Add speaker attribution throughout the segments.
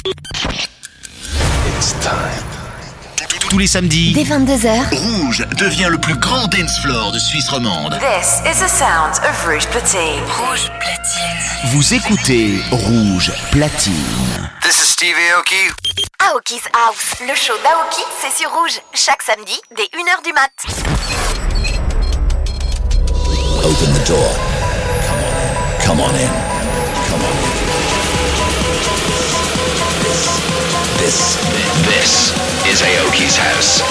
Speaker 1: It's time. Tous les samedis,
Speaker 2: dès 22h,
Speaker 1: Rouge devient le plus grand dance floor de Suisse romande.
Speaker 3: This is the sound of Rouge Platine.
Speaker 2: Rouge Platine.
Speaker 1: Vous écoutez Rouge Platine.
Speaker 4: This is Steve Aoki.
Speaker 2: Aoki's House, le show d'Aoki, c'est sur Rouge, chaque samedi, dès 1h du mat.
Speaker 1: Open the door. Come on in. Come on in. This is Aoki's house.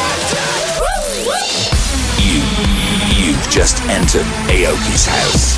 Speaker 1: You've just entered Aoki's house.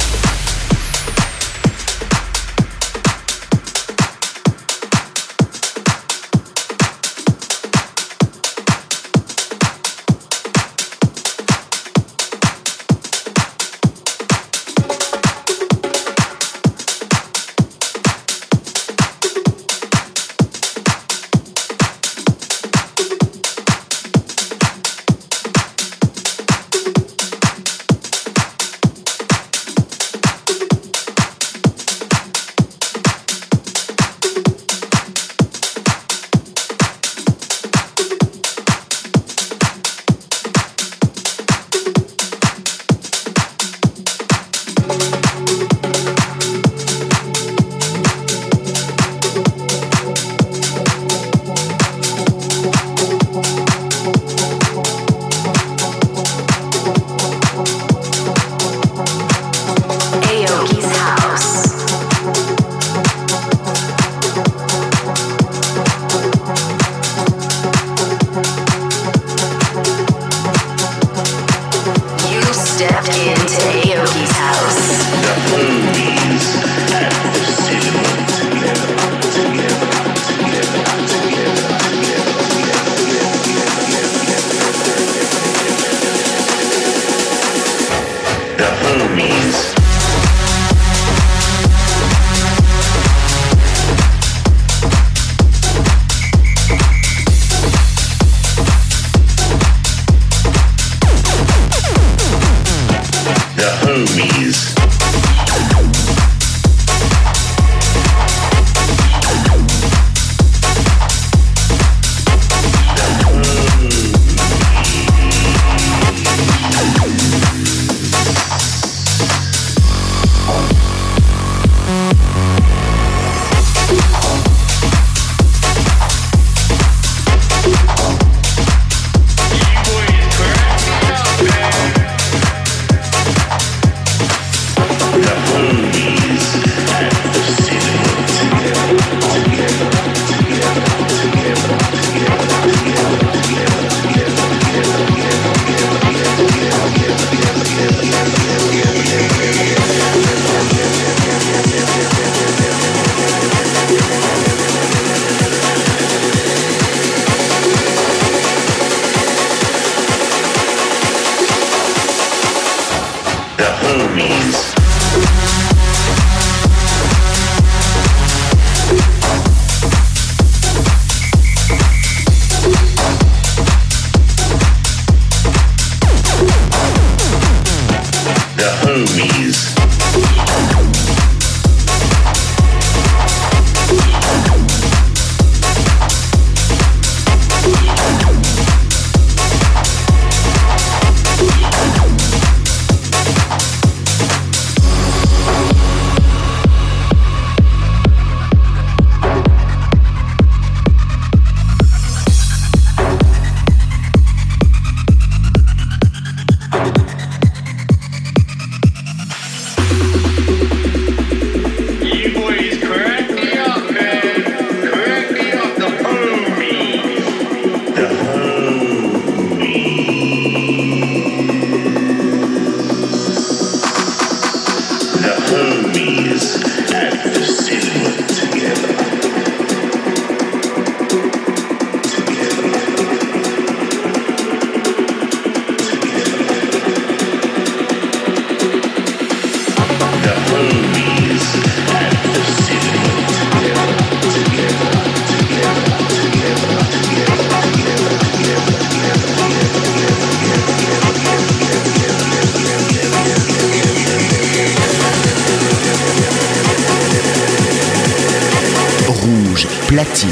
Speaker 1: platine.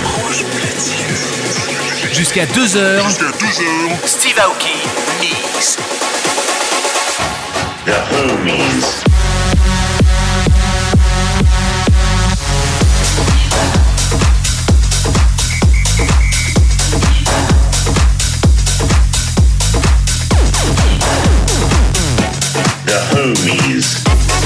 Speaker 4: Jusqu'à 2h. Steve Aoki Mix.
Speaker 5: The Homies. The Homies.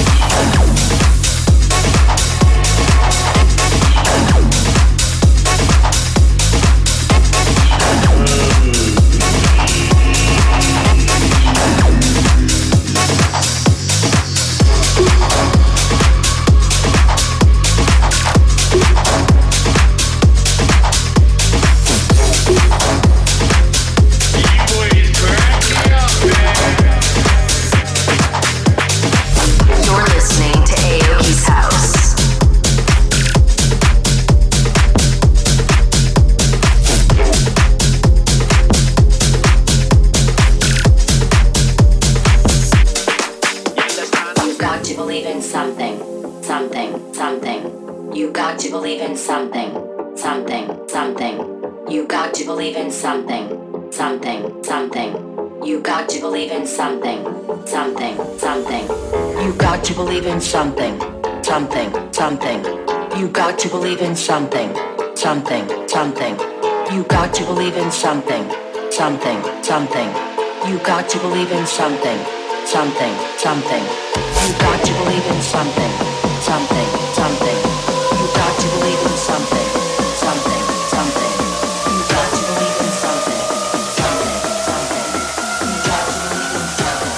Speaker 6: You got to believe in something, something, something. You got to believe in something, something, something. You got to believe in something, something, something. You got to believe in something, something, something. You got to believe in something, something, something. You got to believe in something, something, something. You got to believe in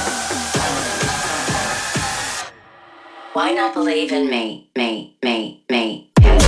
Speaker 6: something. Why not believe in me, me, me, me?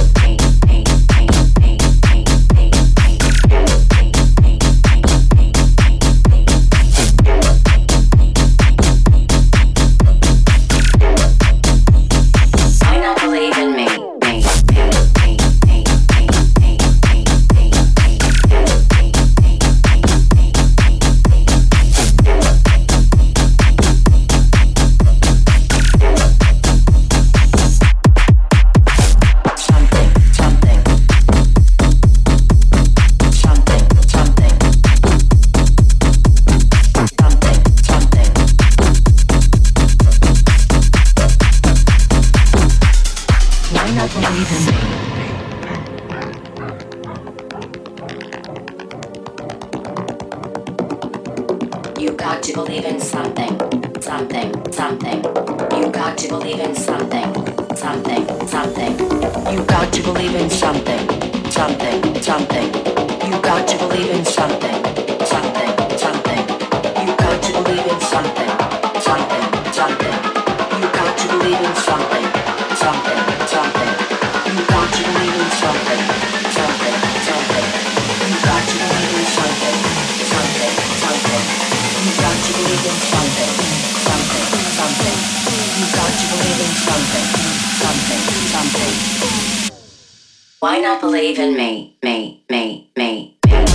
Speaker 6: Why not believe in me, me, me, me?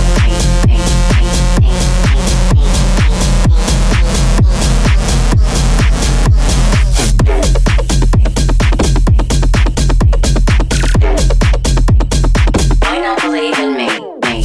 Speaker 6: Why not believe in me, me?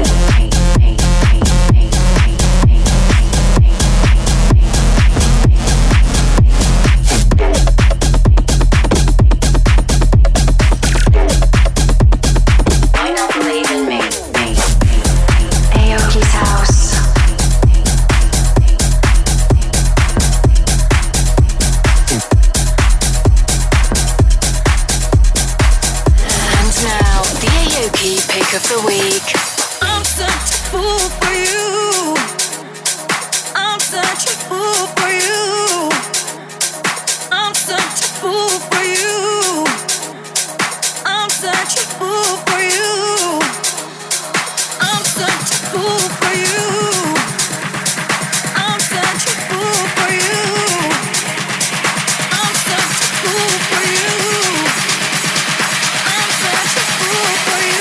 Speaker 3: Of the week.
Speaker 7: I'm such a fool for you. I'm such a fool for you. I'm such a fool for you. I'm such a fool for you. I'm such a fool for you. I'm such a fool for you. I'm such a fool for you. I'm such a fool for you.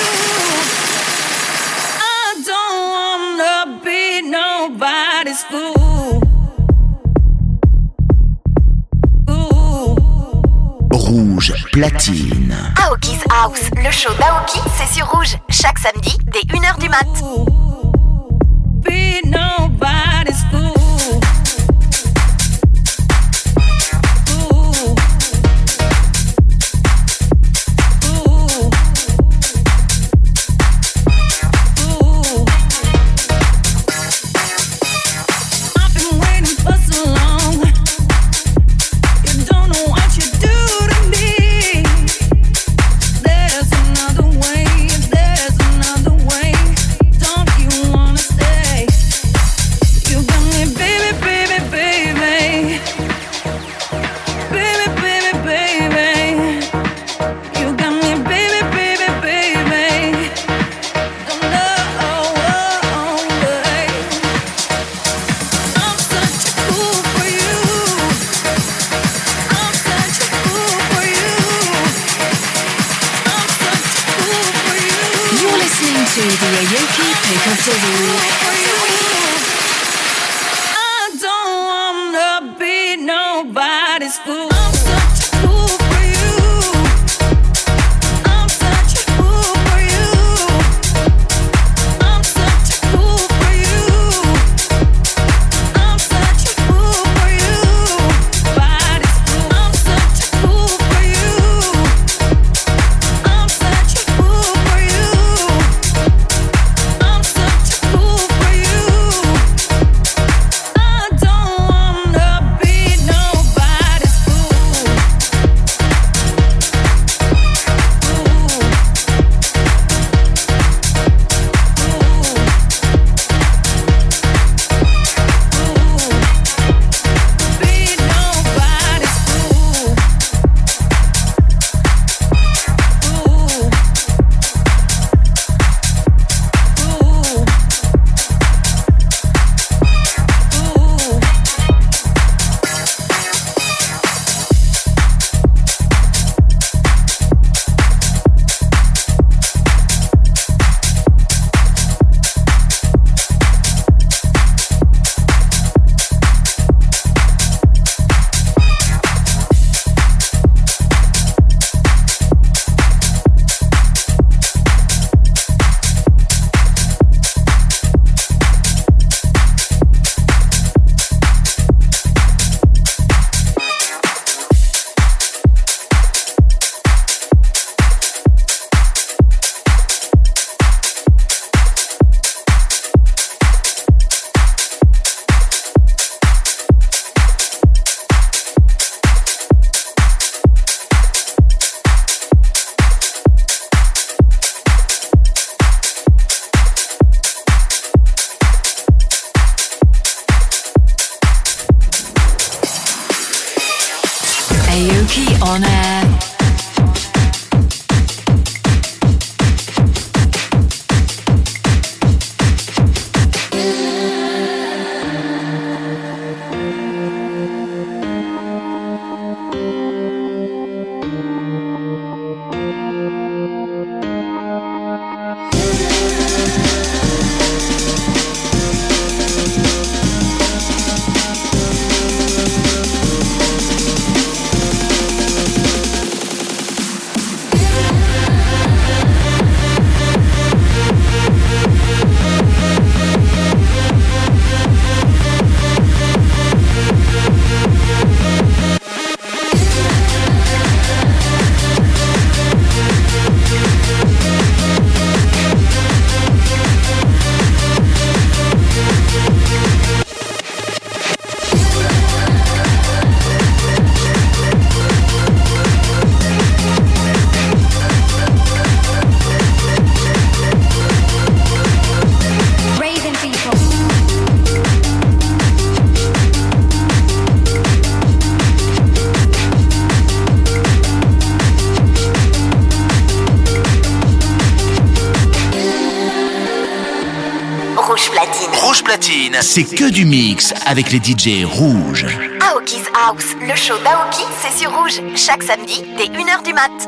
Speaker 7: Nobody's fool.
Speaker 1: Rouge Platine.
Speaker 2: Aoki's House, le show d'Aoki, c'est sur Rouge, chaque samedi dès 1h du mat.
Speaker 7: Be nobody's fool.
Speaker 3: Aoki on air.
Speaker 4: Rouge Platine, c'est que du mix avec les DJ rouges.
Speaker 2: Aoki's House, le show d'Aoki, c'est sur Rouge, chaque samedi dès 1h du mat.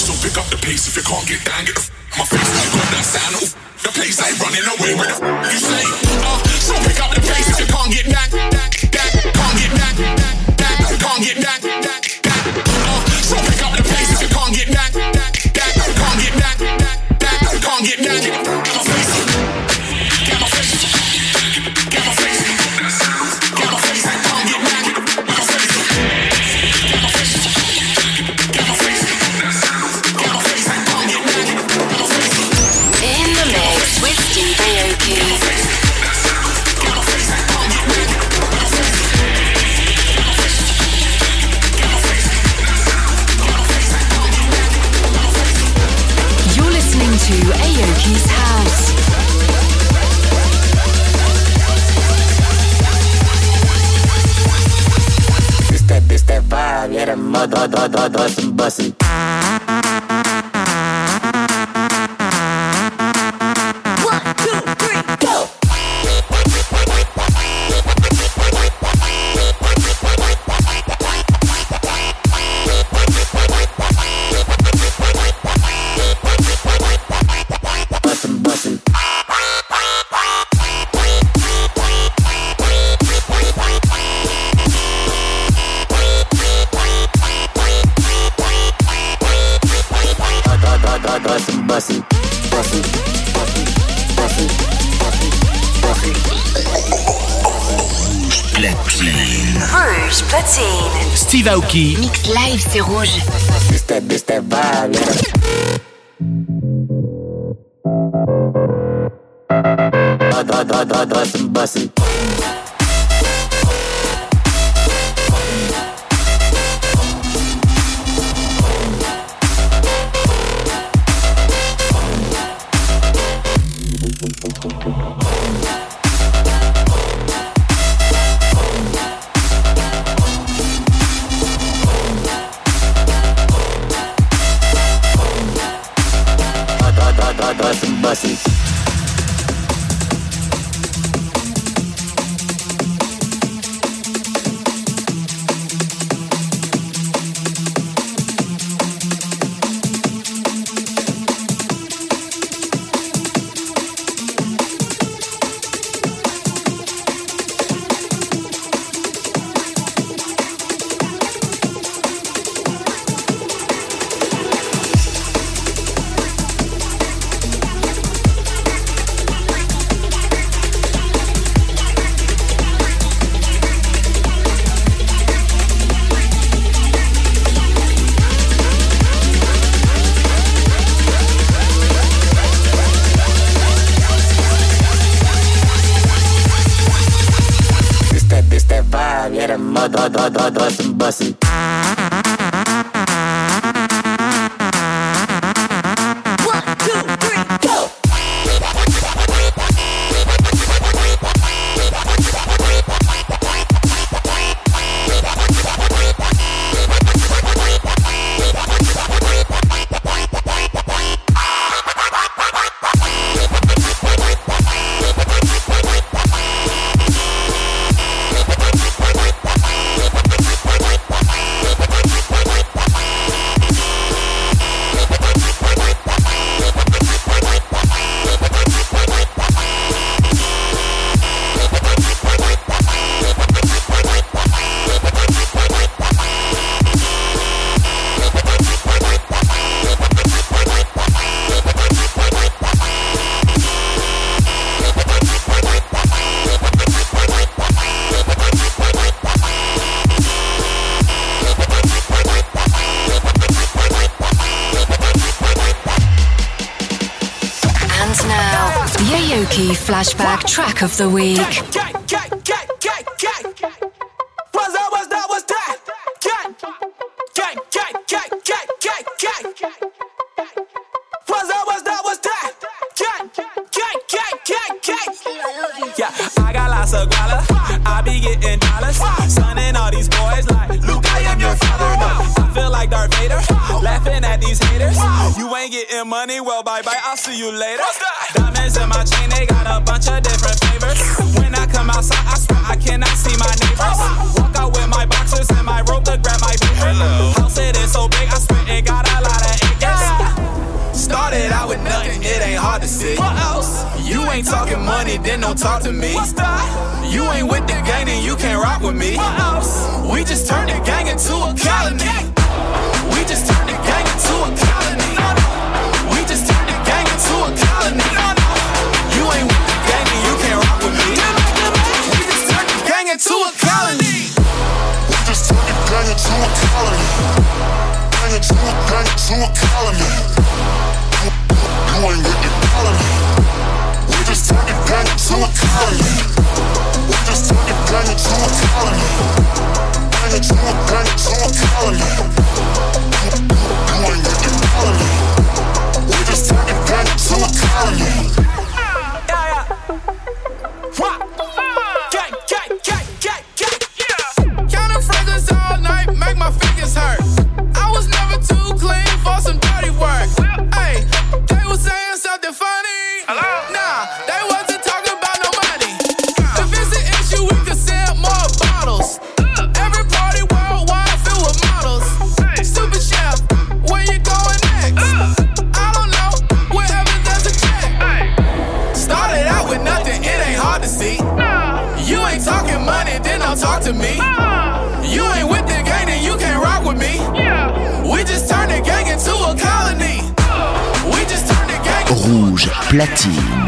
Speaker 8: So pick up the pace if you can't get down, get the my face. Got that sound, the place ain't running away with the you say. So pick up the pace if you can't get down, can't get down, can't get down. So pick up the pace if you can't get down, can't get down, can't get down. Get my face, get my face, get my face, get my face. I can't get down, get my face, get my face, get my face, get my face. I can't get down, get my face.
Speaker 3: In the mix with Steve Aoki. To Aoki's house.
Speaker 9: This that vibe, yeah, the mother, bustin'.
Speaker 2: Rouge Platine.
Speaker 4: Steve Aoki.
Speaker 3: Mix live, c'est rouge.
Speaker 9: This that vibe, yeah. Bustin'. Bustin'. Bustin'.
Speaker 3: Flashback track of the week.
Speaker 10: Yeah, I got lots of guala. I be getting dollars. Sonning all these boys like Luke, I am your father. I feel like Darth Vader, laughing at these haters. You ain't getting money, well bye bye, I'll see you later. Diamonds in my chain, they got a bunch of different flavors. When I come outside, I swear I cannot see my neighbors. Walk out with my boxers and my rope to grab my paper. House it is so big, I swear it got a lot of acres. it ain't hard to see. What else? You ain't talking money, then don't talk to me. What's that? You ain't with the gang, then you can't rock with me. What else? We just turned the gang into a colony. We just turned the gang into a colony. We just turned the gang into a colony. You ain't with the gang, then you can't rock with me. We just turned the gang into a colony.
Speaker 8: We just turned the gang into a colony. Gang into a colony. You ain't with the colony. We just turned the gang into a colony. We just turned the gang into a colony. Gang into a colony. You ain't with the colony. We just turned the gang into a colony.
Speaker 10: Counting fragrance all night, make my fingers hurt. I was never too clean for some dirty work. Hey, they was saying something funny. Nah, they wasn't talking about no money. If it's an issue, we can sell more bottles. Every party worldwide filled with models. Super chef, where you going next? I don't know, wherever there's a check. Started out with nothing, it ain't hard to see. You ain't talking money, then don't talk to me. You ain't with the gang, then you can't rock with me. We just turned the gang into a colony. We just turned the gang into
Speaker 4: Rouge Platine.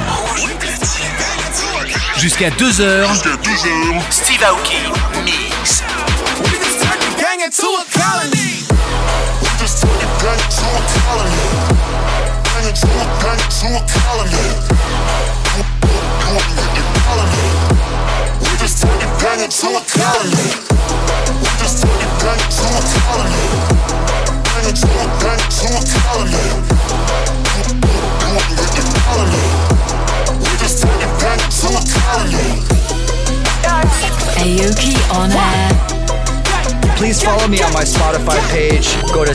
Speaker 4: Jusqu'à 2h, Steve Aoki Mix.
Speaker 10: We just turned the gang into a colony.
Speaker 8: We just turned the gang into a colony. Gang into a colony. You ain't with the colony. We just turned the gang into a colony. We just turned the gang into a colony. Gang into a colony. You ain't with the colony. We just turned the gang into a colony.
Speaker 11: Aoki on air.
Speaker 12: Please follow me on my Spotify page. Go to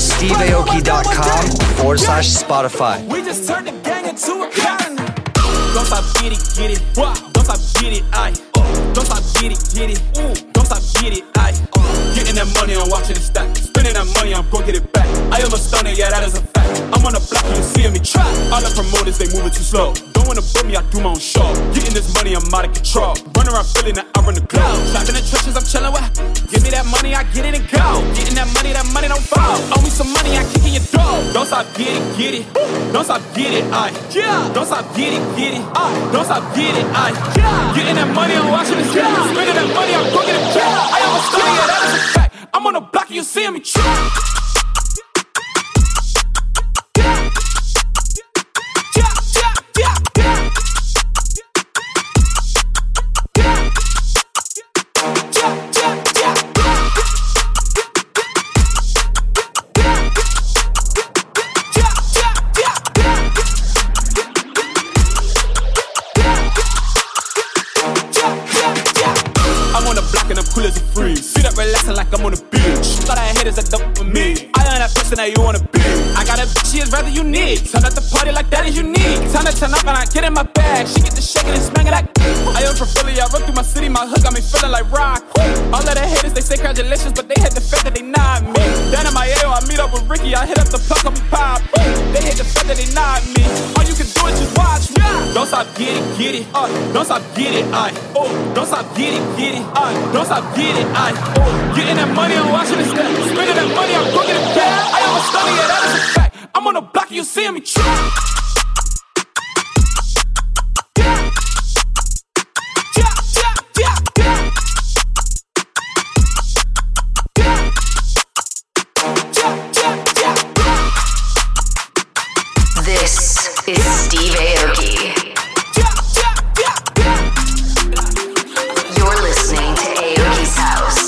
Speaker 12: steveaoki.com/Spotify.
Speaker 10: We just turned the gang into a colony. Don't stop, get it, don't stop, get it, aye. Don't stop, get it, don't stop, get it, aye. Getting that money, I'm watching it stack. Spending that money, I'm gon' get it back. I am a stunner, yeah, that is a fact. I'm on the block, you seeing me try. All the promoters, they moving too slow. Don't wanna book me, I do my own show. Getting this money, I'm out of control. Run around feeling that I run the cloud. Trapped in the trenches, I'm chilling with. Give me that money, I get it and go. Getting that money don't fall. Owe me some money, I kick in your door. Don't stop, get it. Don't stop, get it, aye. Don't stop, get it, aye. Don't stop, get it, aye. Getting that money, I'm watching it. Spending that money, I'm gon' get it back. I am a stunner, yeah, that is a fact. I'm on the block, you seeing me try. Cool as a freeze. See that relaxing like I'm on the beach. Thought I had haters that dump for me. I am that person that you wanna be. I got a bitch, she is rather unique. Turn up the party like that is unique. Time to turn up and I get in my bag. She get the shaking and smacking that. I am from Philly, I run through my city. My hood got me feeling like rock. All of the haters, they say congratulations, but they hate the fact that they not me. Down in my AO, I meet up with Ricky. I hit up the plug on me pop. They hate the fact that they not me. All you can do is just watch me. Don't stop, get it. Don't stop, get it, aye. Oh, don't stop, get it, aye. Don't stop, get it, aye. Oh, getting that money, I'm watching it step. Spending that money, I'm gon' get it back. I am a stunner, yeah, that is a fact. I'm on the block, you seeing me try.
Speaker 3: This is Steve Aoki. You're listening to Aoki's House.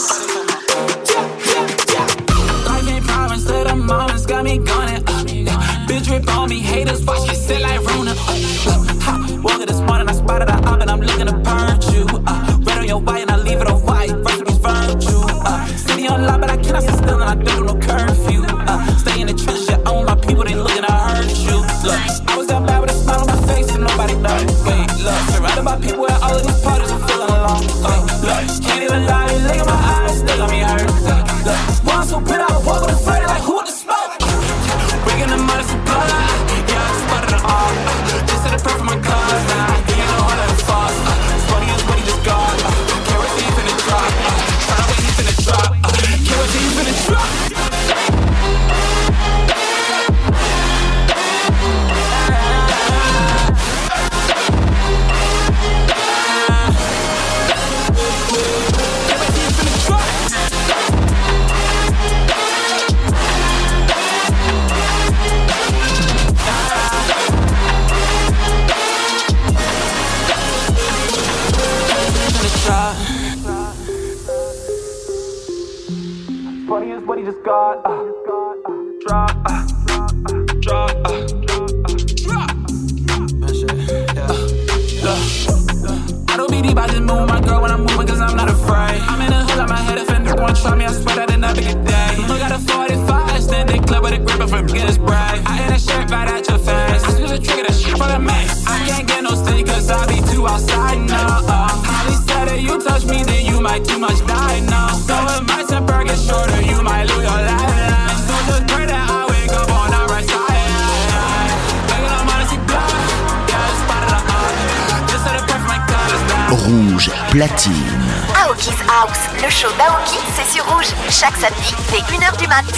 Speaker 13: Life ain't promised that the moments got me gunning. Bitch rip on me, haters watch me sit like Rona. Woke up this morning, I spotted her up and I'm looking to purge you. Red on your white and I leave it on white. Recipes virtue. City on lock, but I cannot sit still and I don't do no curfew. Stay in the trenches, yeah, I want my people, they looking to hurt you. Look, I was down bad with a
Speaker 4: Rouge Platine.
Speaker 2: Aoki's House, le show d'Aoki, c'est sur Rouge. Chaque samedi, dès 1h du mat'.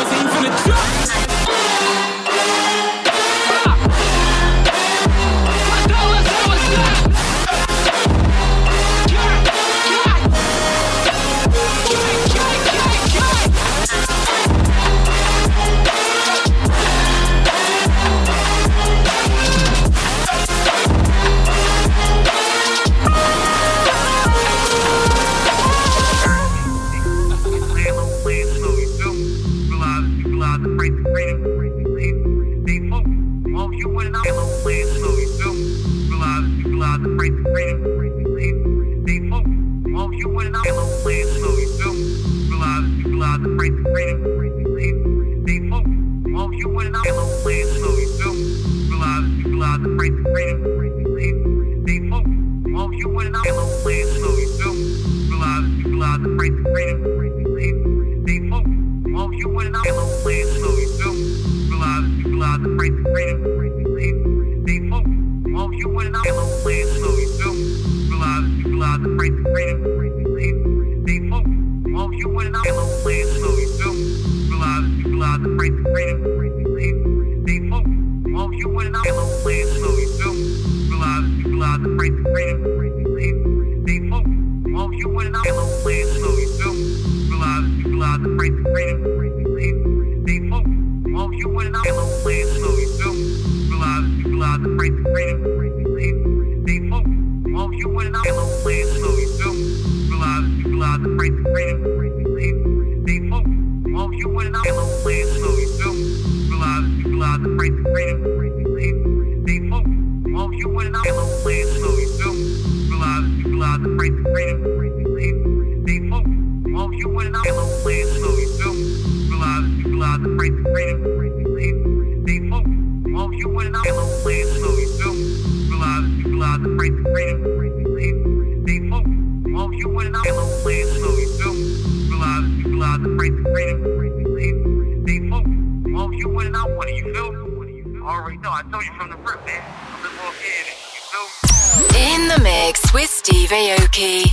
Speaker 3: In the mix with Steve Aoki.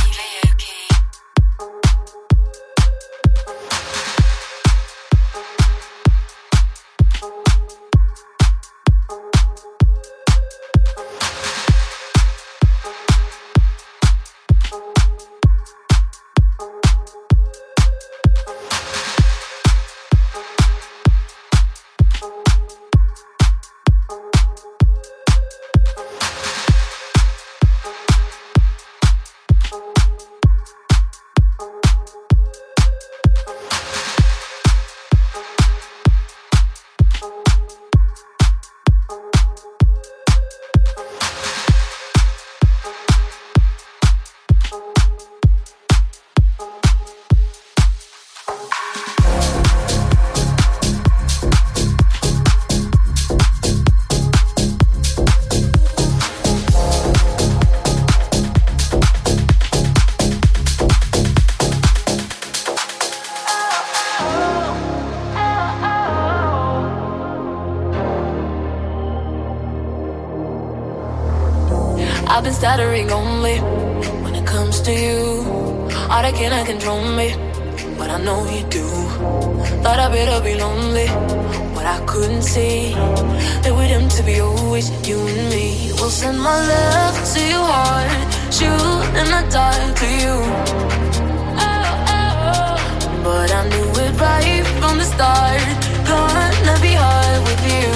Speaker 11: I've been stuttering only when it comes to you. All that cannot control me, but I know you do. Thought I better be lonely, but I couldn't see that we're doomed to be always you and me. We'll send my love to your heart, shoot in the dark to you. But I knew it right from the start, gonna be hard with you.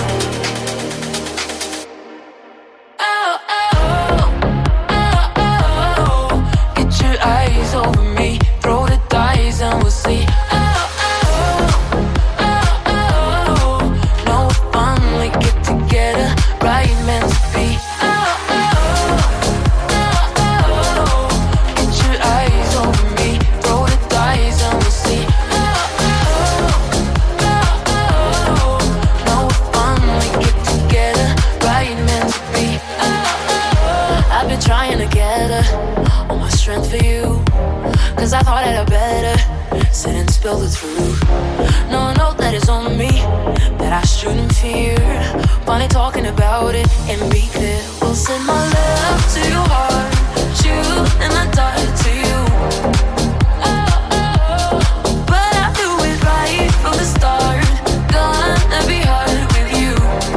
Speaker 11: Eyes over me, throw the dice and we'll see. No, we finally get together, right meant to be. Get your eyes over me, throw the dice and we'll see. No, we finally get together, right meant to be. I've been trying to get her, all my strength for you, cause I thought I'd better sit and spill the truth. No, I know that it's on me, that I shouldn't fear. Finally talking about it and be clear. We'll send my love to your heart, and I die to you. But I do it right from the start. Gonna be hard with you.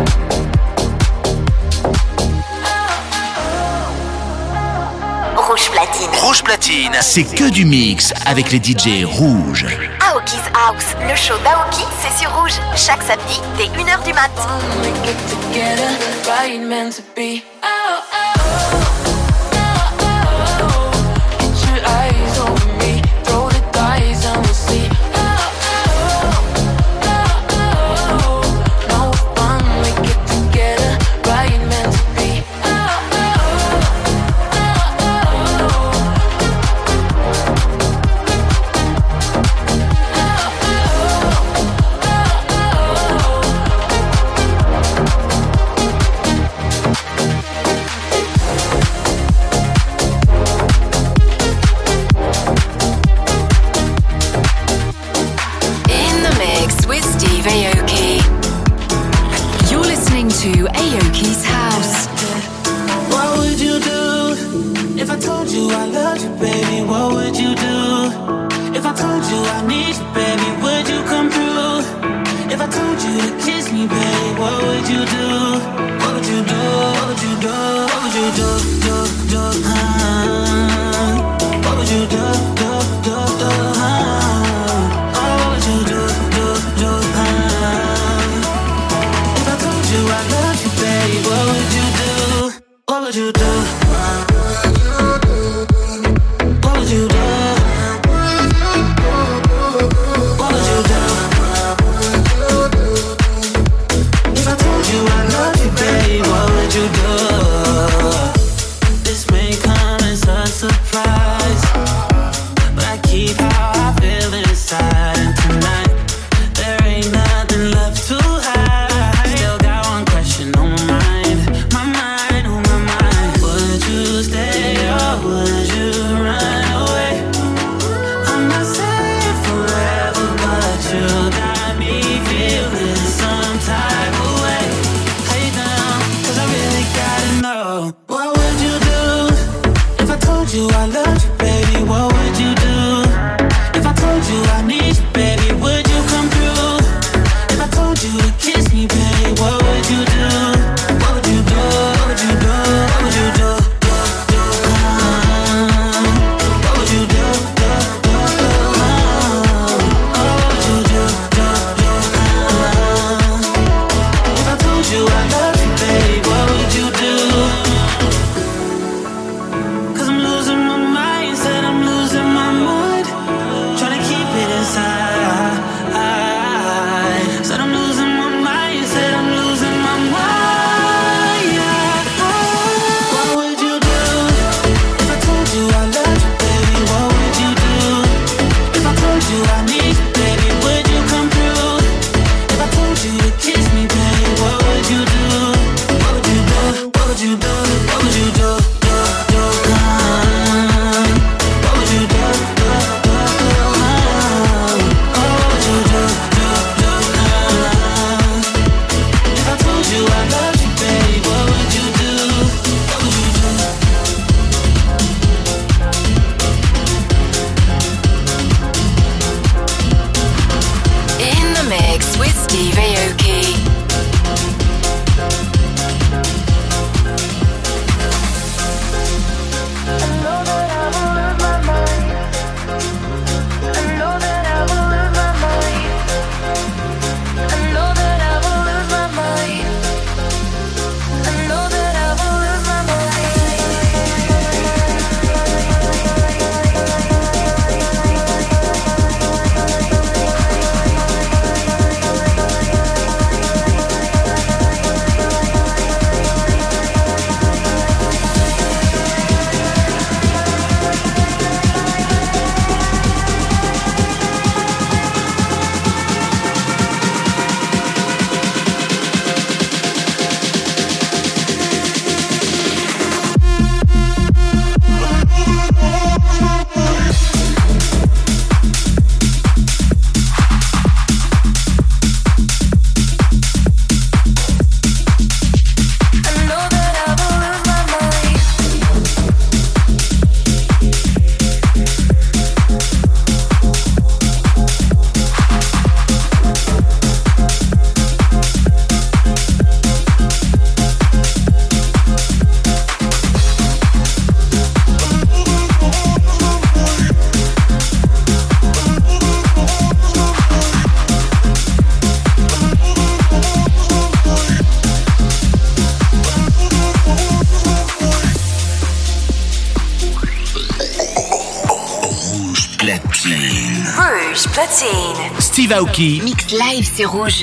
Speaker 2: Rouge Platine.
Speaker 4: Rouge Platine, c'est que du mix avec les DJ rouges.
Speaker 2: Aoki's House, le show d'Aoki, c'est sur Rouge, chaque samedi dès 1h du mat.
Speaker 14: To Aoki's House.
Speaker 13: What would you do if I told you I loved you, baby? What would you do if I told you I need you, baby? Would you come through? If I told you to kiss me, baby, what would you do? What would you do? What would you do? What would you do? What would you do? What would you do? I love you, baby. What would you do? What would you do? What would you do? What would you do? If I told you I love you, baby, what would you do? This may come as a surprise, but I keep how I feel inside. And tonight, there ain't nothing left to hide. I love you, baby, what would you do? If I told you I need you, baby, would you come through? If I told you to kiss me, baby, what would you do? What would you do? What would you do? What would you do? What would you do? What would you do? If I told you I love you, baby, what would you do? 'Cause I'm losing my mind.
Speaker 5: platine.
Speaker 2: Rouge platine.
Speaker 4: Steve Aoki.
Speaker 14: Mix live, c'est rouge.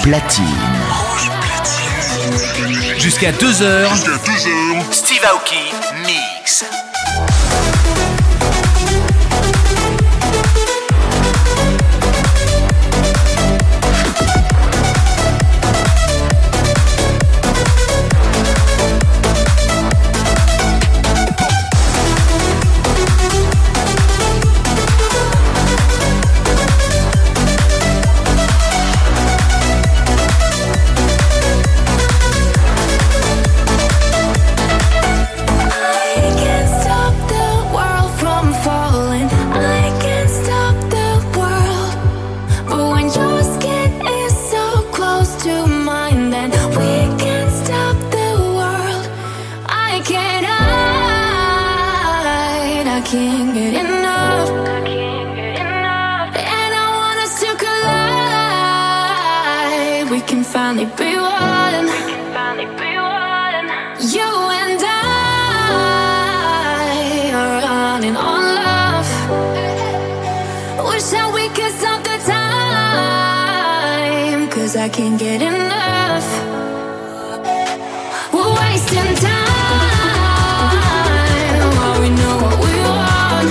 Speaker 4: platine. Jusqu'à 2h. Steve Aoki Mix.
Speaker 7: I can't get enough. We're wasting time while we know what we want.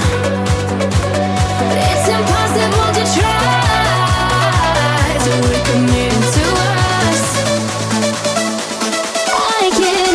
Speaker 7: It's impossible to try till we're committed to us. I can't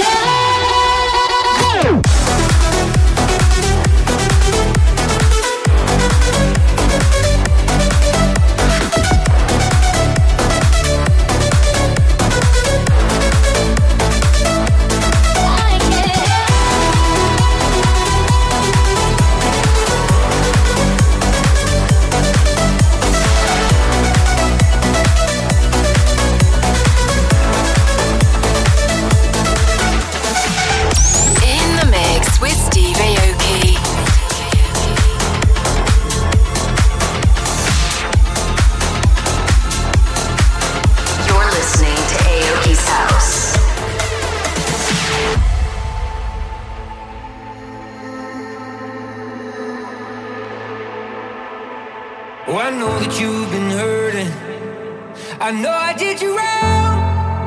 Speaker 15: Oh, I know that you've been hurting. I know I did you wrong.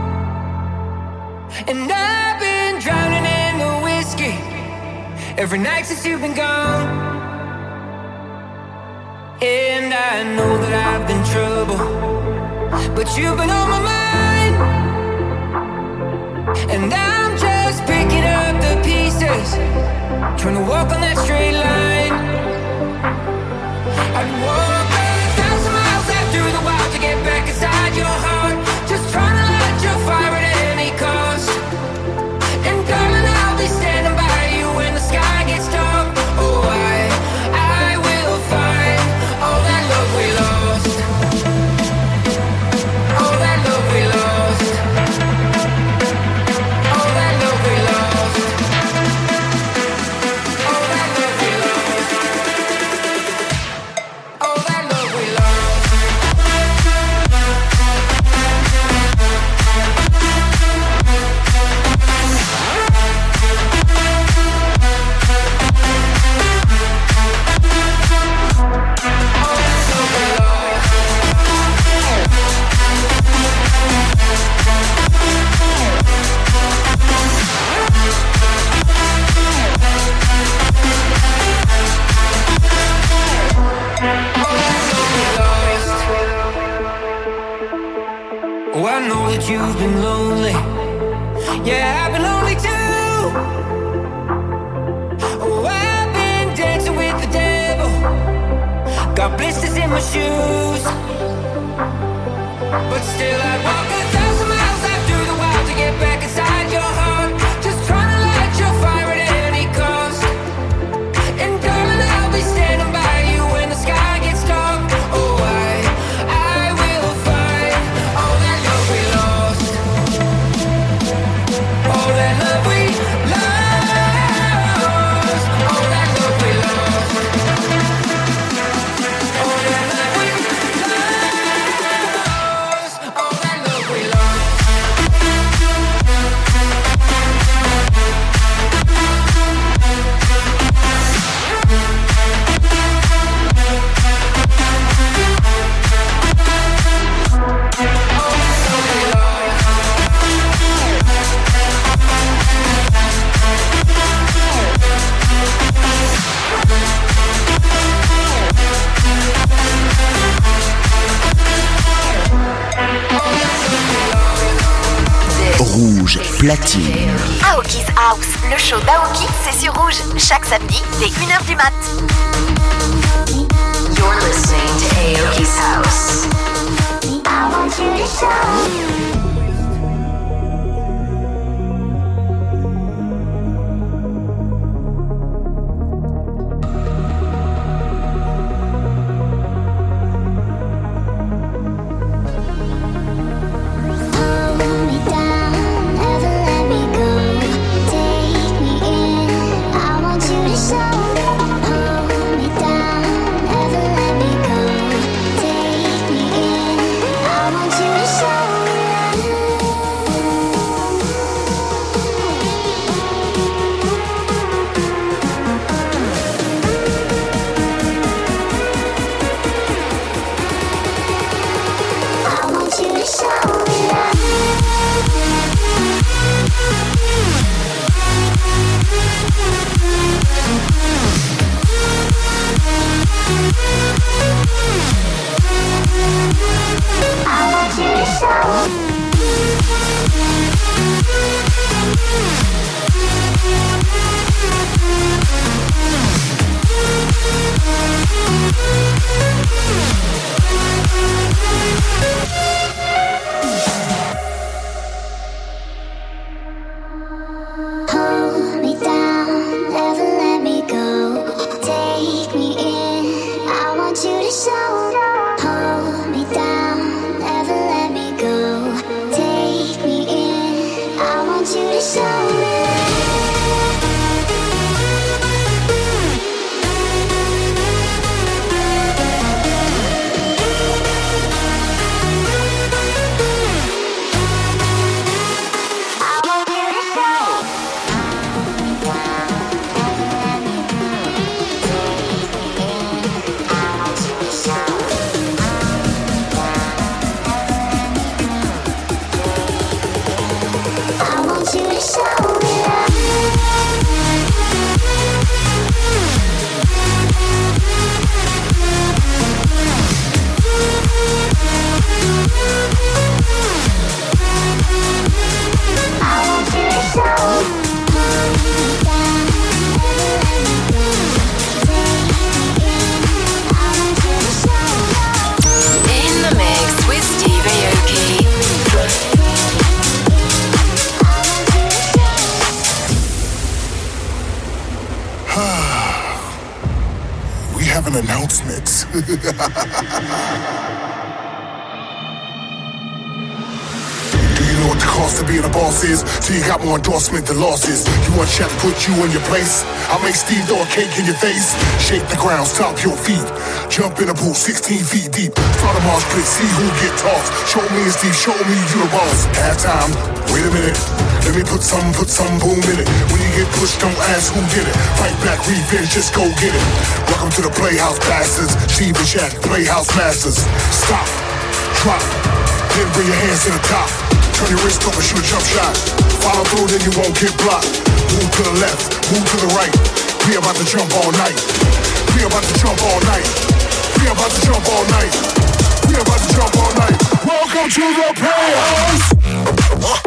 Speaker 15: And I've been drowning in the whiskey every night since you've been gone. And I know that I've been trouble, but you've been on my mind. And I'm just picking up the pieces, trying to walk on that straight line. I'd walk 1,000 miles out through the wild to get back inside your heart, just trying to light your fire at any cost. And darling, I'll be standing by you when the sky gets dark. Oh, I will find all that love we lost. All that love we lost. All that love we lost. All that love we lost. All that love we lost. Oh, I know that you've been lonely. Yeah, I've been lonely too. Oh, I've been dancing with the devil. Got blisters in my shoes. But still I'd walk 1,000 miles out through the wild to get back inside your heart, just trying to light your fire at any cost. And darling, I'll be standing by you when the sky gets dark. Oh, I will find all that love we lost. All that love we lost. All that love we lost. All that love we lost. All that love
Speaker 4: platine.
Speaker 2: Aoki's House, le show d'Aoki, c'est sur Rouge, chaque samedi dès 1h du mat.
Speaker 6: You're listening to Aoki's House.
Speaker 16: I want you to show.
Speaker 17: So you got more endorsement than losses. You want Chef to put you in your place? I'll make Steve throw a cake in your face. Shake the ground, stomp your feet. Jump in a pool 16 feet deep. Start a march pit, see who get tossed. Show me and Steve, show me you the boss. Halftime, wait a minute. Let me put some boom in it. When you get pushed, don't ask who did it. Fight back, revenge, just go get it. Welcome to the Playhouse Bastards. Steve and Shaq, Playhouse Masters. Stop, drop, then bring your hands to the top. Turn your wrist over, shoot a jump shot. Follow through, then you won't get blocked. Move to the left, move to the right. We about to jump all night. We about to jump all night. We about to jump all night. We about to jump all night. Welcome to the Playhouse.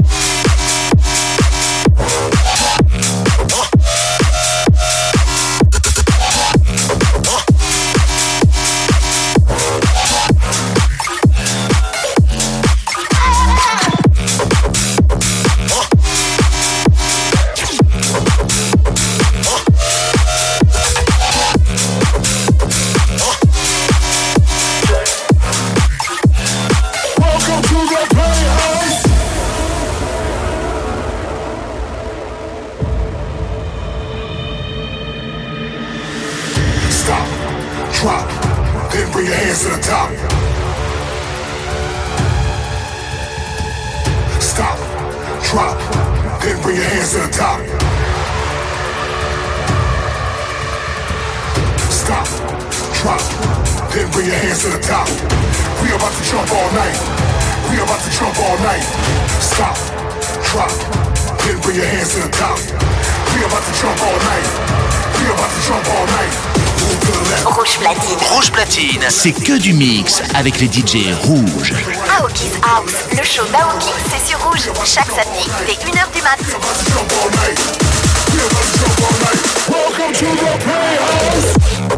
Speaker 17: Move
Speaker 2: Rouge platine.
Speaker 4: Rouge platine, c'est que du mix avec les DJ rouges.
Speaker 2: Aoki's House, le show d'Aoki, c'est sur Rouge, chaque samedi dès 1h du mat.
Speaker 17: Welcome to the playhouse.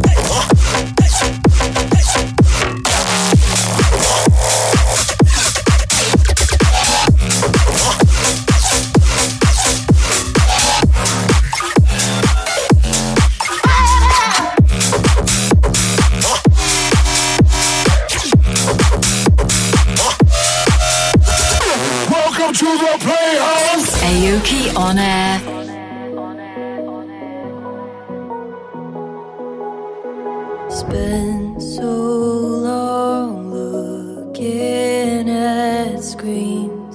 Speaker 17: Welcome to the playhouse.
Speaker 14: Aoki on air.
Speaker 7: Spent so long looking at screens.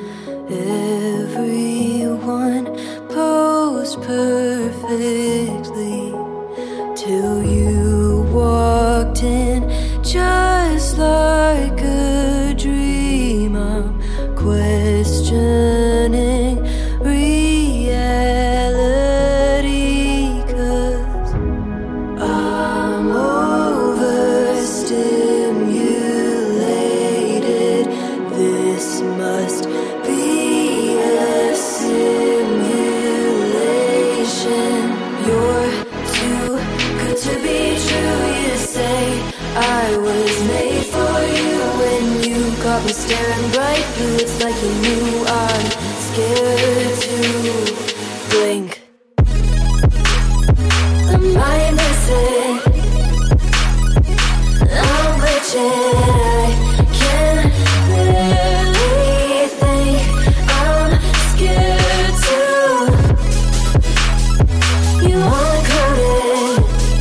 Speaker 7: Everyone posed perfectly till you walked in, just like a dream. I'm questioning reality, 'cause I'm overstimulated. This must be a simulation. You're too good to be true, you say. I was made for you when you got me staring bright blue. It's like you knew I'm scared to blink. Am I missing? I'm glitching. I can barely think. I'm scared to. You uncoded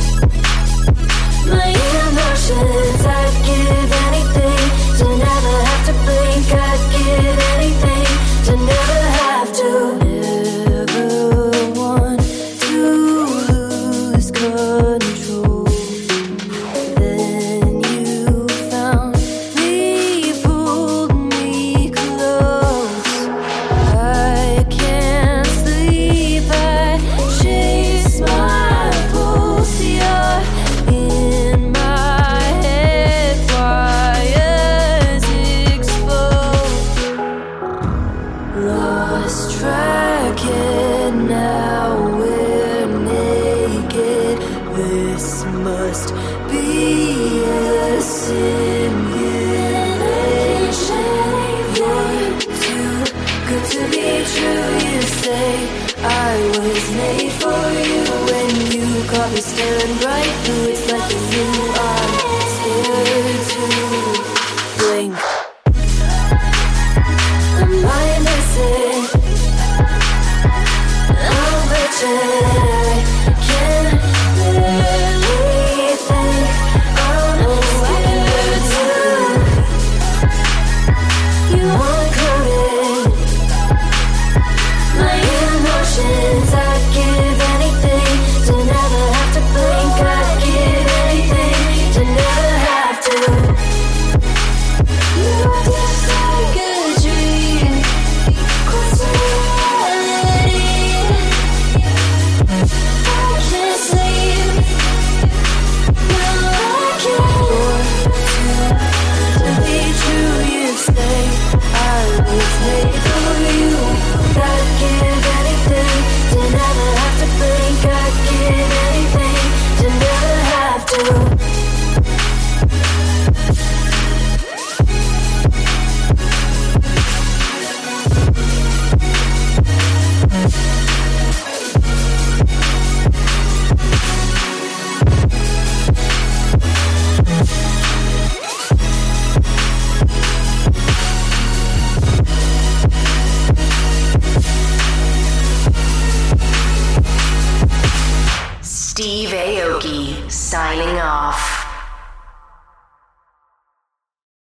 Speaker 7: my emotions. I'd give anything to never have to blink. I'd give anything to never have to. Never want to lose control. Then you found me, pulled me close. I can't sleep. I chase my pulse. You're in my head, wires exposed. Lost track and now we're naked. This must be a simulation. You're too good to be true, you say. I was made for you when you caught me staring bright blue. It's like you knew I'm scared to blink. Am I missing? I'm glitching.